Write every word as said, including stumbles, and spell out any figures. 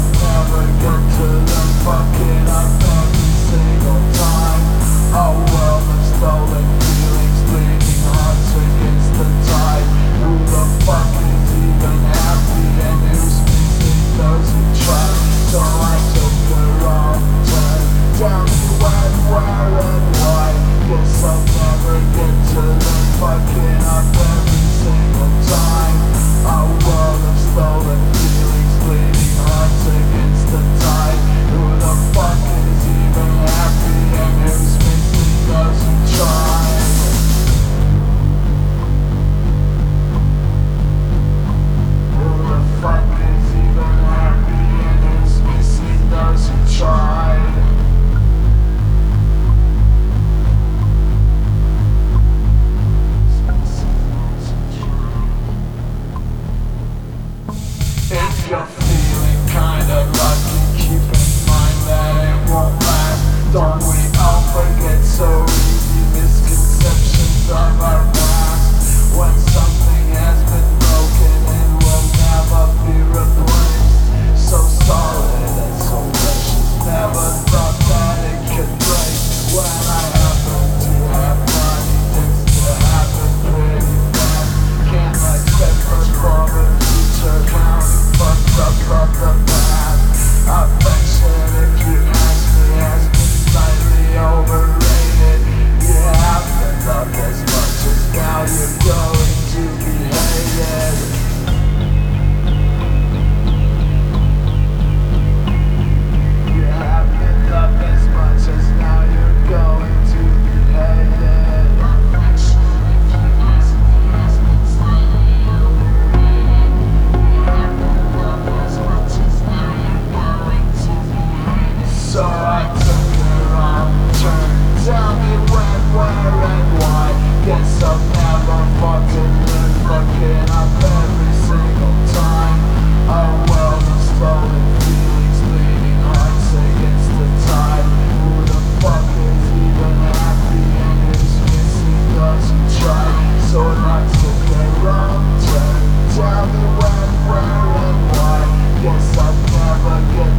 never get to the fucking up every single time. A world of stolen feelings, bleeding hearts against the tide. Who the fuck is even happy and who's missing those who try? So I took the wrong turn. Tell me when, where and why. Guess I'll never get to the fucking up every single time. A world of stolen feelings, bleeding hearts against the tide. Who the fuck is even happy and who's missing those who try? Who the fuck is even happy and who's missing those who tried? If you're feeling kinda lucky, keep in mind that it won't last. Don't we all forget so easy misconceptions of our past? When something has been broken, it will never be replaced. So solid and so precious, never thought that it could break. When I happen to have money, things to happen pretty fast. Can't expect much for the future, counting fucked up from the past. Affection, if you ask me, has been slightly overrated. You haven't loved as much as now you're going to be hated. You haven't loved as much as now you're going to be hated. Affection, if you ask me, has been slightly overrated. You haven't loved as much as now you're going to be hated. So I took the wrong turn. Tell me when, where and why. Guess I'll never fucking live fucking up every single time. A world of stolen feelings, bleeding hearts against the tide. Who the fuck is even happy and who's missing those who tried? So I took the wrong turn. Tell me when, where and why. Guess I'll never get